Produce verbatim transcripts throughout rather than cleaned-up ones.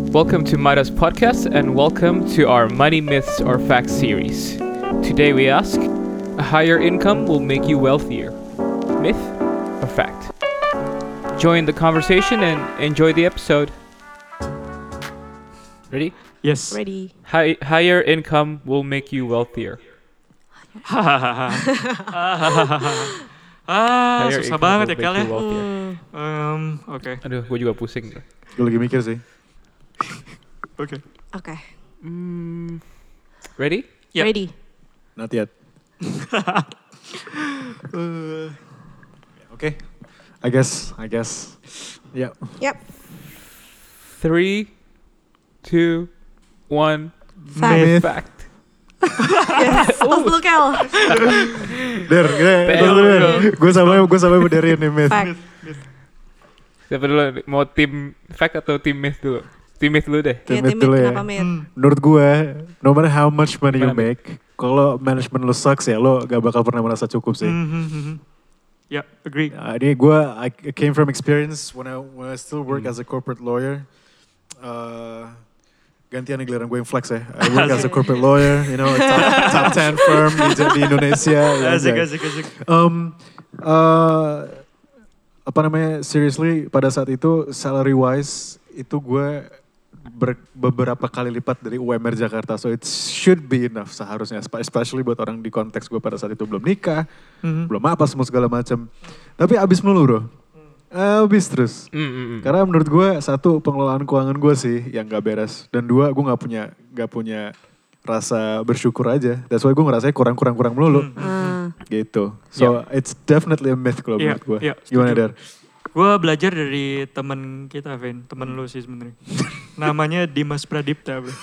Welcome to Midas Podcast and welcome to our Money Myths or Facts series. Today we ask, a higher income will make you wealthier. Myth or fact? Join the conversation and enjoy the episode. Ready? Yes. Ready. High, higher income will make you wealthier. ah, Higher susah income banget will ya Kel make ya. you wealthier. Um, Oke. Aduh, gue juga pusing. Gue lagi mikir sih. Oke. Oke. Mm, ready? Yep. Ready. Not yet. Uh, Oke. I guess. I guess. Yeah. Yep. Three, two, one. Fact. Myth. Fact. Yes. Tos dulu Kel. Der, gue sama gue sama benerin nih myth. Fact. Siapa dulu? Mau tim fact atau tim myth dulu? Tim myth dulu deh. Ya, Myth timid dulu ya. kenapa myth? hmm. Menurut gue, no matter how much money you Gimana, make, kalau management lo sucks ya, lo gak bakal pernah merasa cukup sih. Mhm. Ya, agree. Uh, ini gue, I came from experience when I when I still work as a corporate lawyer. Uh, gantian nih giliran gue yang flex ya. I work as a corporate lawyer, you know, a top, top ten firm di, di Indonesia. Ya, Asik, ya. asik, asik. Um, uh, apa namanya, seriously pada saat itu salary wise itu gue ber, beberapa kali lipat dari U M R Jakarta, so it should be enough seharusnya, especially buat orang di konteks gue pada saat itu belum nikah, Mhm. belum apa semua segala macam. Tapi abis melulu bro, abis terus. Mm, mm, mm. Karena menurut gue satu pengelolaan keuangan gue sih yang gak beres, dan dua gue nggak punya nggak punya rasa bersyukur aja. That's why gue ngerasanya kurang-kurang-kurang melulu. Ah. Gitu. So it's definitely a myth kalau Iya, menurut gue. iya, Gimana setuju. Dar? Gue belajar dari temen kita, Vin. Temen lu sih sebenarnya. Namanya Dimas Pradipta, bro.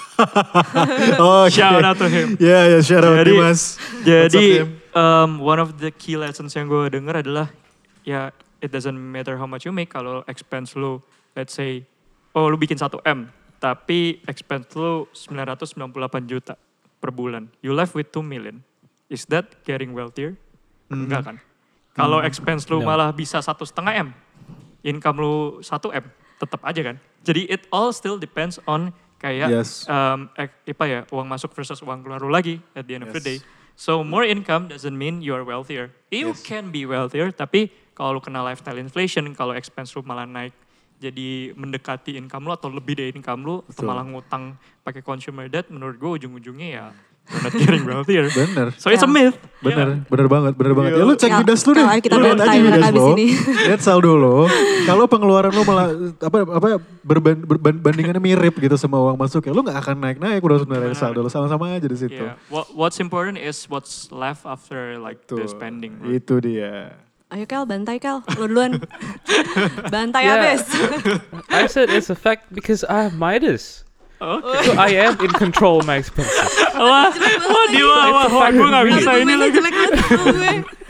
Oh, Shout out to him. Ya ya shout out Jadi- Dimas. Jadi, What's up, Dim? um, one of the key lessons yang gue denger adalah, ya, it doesn't matter how much you make, kalau expense lu, let's say, oh lu bikin satu M, tapi expense lu sembilan ratus sembilan puluh delapan juta per bulan. You left with two million. Is that getting wealthier? Mhm. Enggak kan? Kalau expense lu No. malah bisa satu setengah M, income lu satu M, tetap aja kan? Jadi it all still depends on kayak Yes. um, ek- apa ya, uang masuk versus uang keluar lu lagi at the end of the day. Yes. So more income doesn't mean you are wealthier. You Yes. can be wealthier, tapi kalau lu kena lifestyle inflation, kalau expense lu malah naik jadi mendekati income lu atau lebih dari income lu, atau Betul. malah ngutang pakai consumer debt, menurut gue ujung-ujungnya ya you're not getting wealthier. Bener. So it's a myth. Bener, bener banget, bener banget. Iya. Ya lu cek Kal- Midas lu deh. Kal, ayo kita Lu lihat bantai aja mereka Midas abis lo. ini. Lihat saldo lo. Kalau pengeluaran lo malah apa apa berban, berban, bandingannya mirip gitu sama uang masuk ya, lu nggak akan naik-naik bro sebenarnya Benar. saldo lo sama-sama aja di situ. Yeah. What, what's important is what's left after like the Tuh, spending. Bro. itu dia. Ayo Kel, bantai Kel. Lu duluan. Bantai Yeah. abis. I said it's a fact because I have Midas. Oke. So I am in control of my expenses. Wah, wah, dia wah, wah, wah, gue gak bisa Aduh, ini gue lagi. jelek banget sama gue.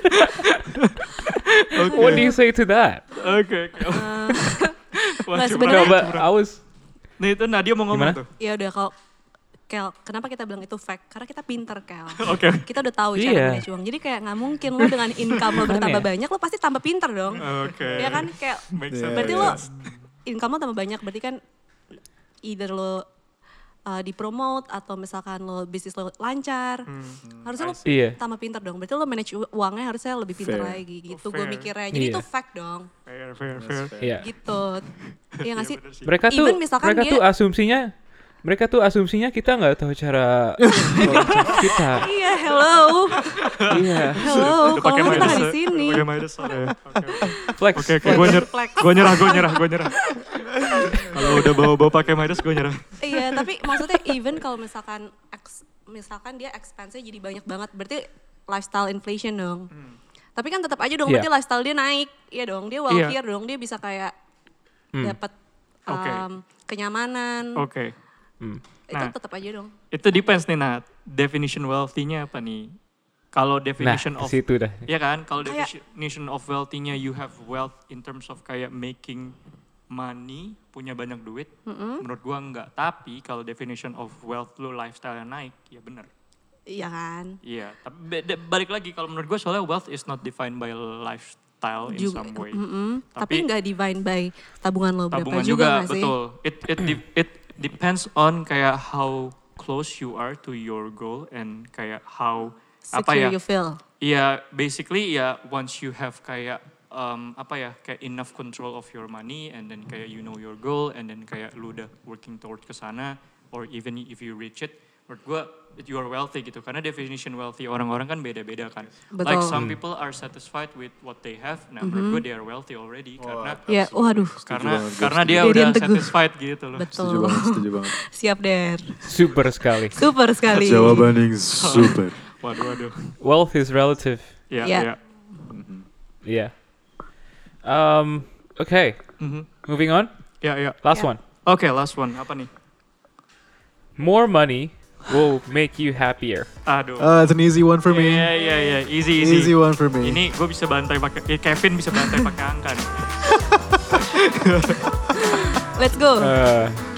Oke. What do you say to that? Oke, oke. Ah. Wah, Nggak, curang, No, sebenarnya- but curang. I was. Nih itu Nadia mau ngomong Gimana? tuh. Ya udah kalau Kel, kenapa kita bilang itu fact? Karena kita pinter Kel. Oke. Kita udah tahu Iya. cara manage uang. Jadi kayak nggak mungkin lo dengan income lo bertambah ya? banyak, lo pasti tambah pinter dong. Oke. Ya kan kayak Make Yeah, sense. berarti yeah. lo income lo tambah banyak, berarti kan either lo uh, dipromote atau misalkan lo bisnis lo lancar. Hmm. Harusnya lo Iya. tambah pinter dong. Berarti lo manage u- uangnya harusnya lebih pinter Fair. lagi gitu. Oh, Gue fair. mikirnya. Jadi Iya. itu fact dong. Fair, fair, fair. Iya. Gitu. Iya gak sih? bener sih. Mereka tuh, Even misalkan mereka dia- tuh asumsinya, mereka tuh asumsinya kita nggak tahu cara mengelola kita. Iya, hello. Iya. Hello. Udah Kalau pakai kita Midas nggak di ya? sini. Udah pakai Midas, sorry. Oke, Flex. oke, oke, gue nyerah, Flex. gue nyerah, gue nyerah, gue nyerah. Kalau udah bawa-bawa pakai Midas, gue nyerah. Iya, tapi maksudnya even kalau misalkan ex- misalkan dia expense-nya jadi banyak banget, berarti lifestyle inflation dong. Tapi kan tetap aja dong, Iya. berarti lifestyle dia naik. Iya dong, dia wealthier dong, dia bisa kayak Hmm. dapat Oke. um, kenyamanan. Oke. Hmm. Itu Nah. tetap aja dong. Itu depends nih, Nat. Definition wealthy-nya apa nih? Kalau Nah, definition ke of situ dah. ya kan, kalau Kayak- definition of wealthy-nya you have wealth in terms of kayak making money, punya banyak duit, menurut gua enggak. Tapi kalau definition of wealth lu lifestyle yang naik, ya bener. Iya kan? Iya, tapi beda- balik lagi kalau menurut gua soalnya wealth is not defined by lifestyle in Juga, some way. mm-mm. Tapi- Tapi nggak divine by tabungan lo berapa Tabungan juga juga, nggak sih? betul. It it di- it depends on kayak how close you are to your goal and kayak how apa Secure ya? you feel. Iya, basically ya once you have kayak um, apa ya kayak enough control of your money and then kayak you know your goal and then kayak lu udah working toward ke sana or even if you reach it, menurut gue you are wealthy gitu karena definition wealthy orang-orang kan beda-beda kan. Betul. Like some people are satisfied with what they have, nah menurut gue they are wealthy already Oh, karena Ya, waduh. karena banget, gue karena dia setuju. udah Dirian teguh. satisfied gitu loh. Betul. Setuju banget, setuju banget. Siap Der. Super sekali. Super sekali. Jawaban yang super. Waduh waduh. Wealth is relative. Ya Ya. ya. Yeah. Um. Okay. Mhm. Moving on. Ya ya. Last Yeah. one. Oke, last one apa nih? More money will make you happier. Aduh. Uh, it's an easy one for me. Iya iya iya, easy easy. Easy one for me. Ini gue bisa bantai pakai eh, Kevin bisa bantai pakai angka nih. Let's go. Uh,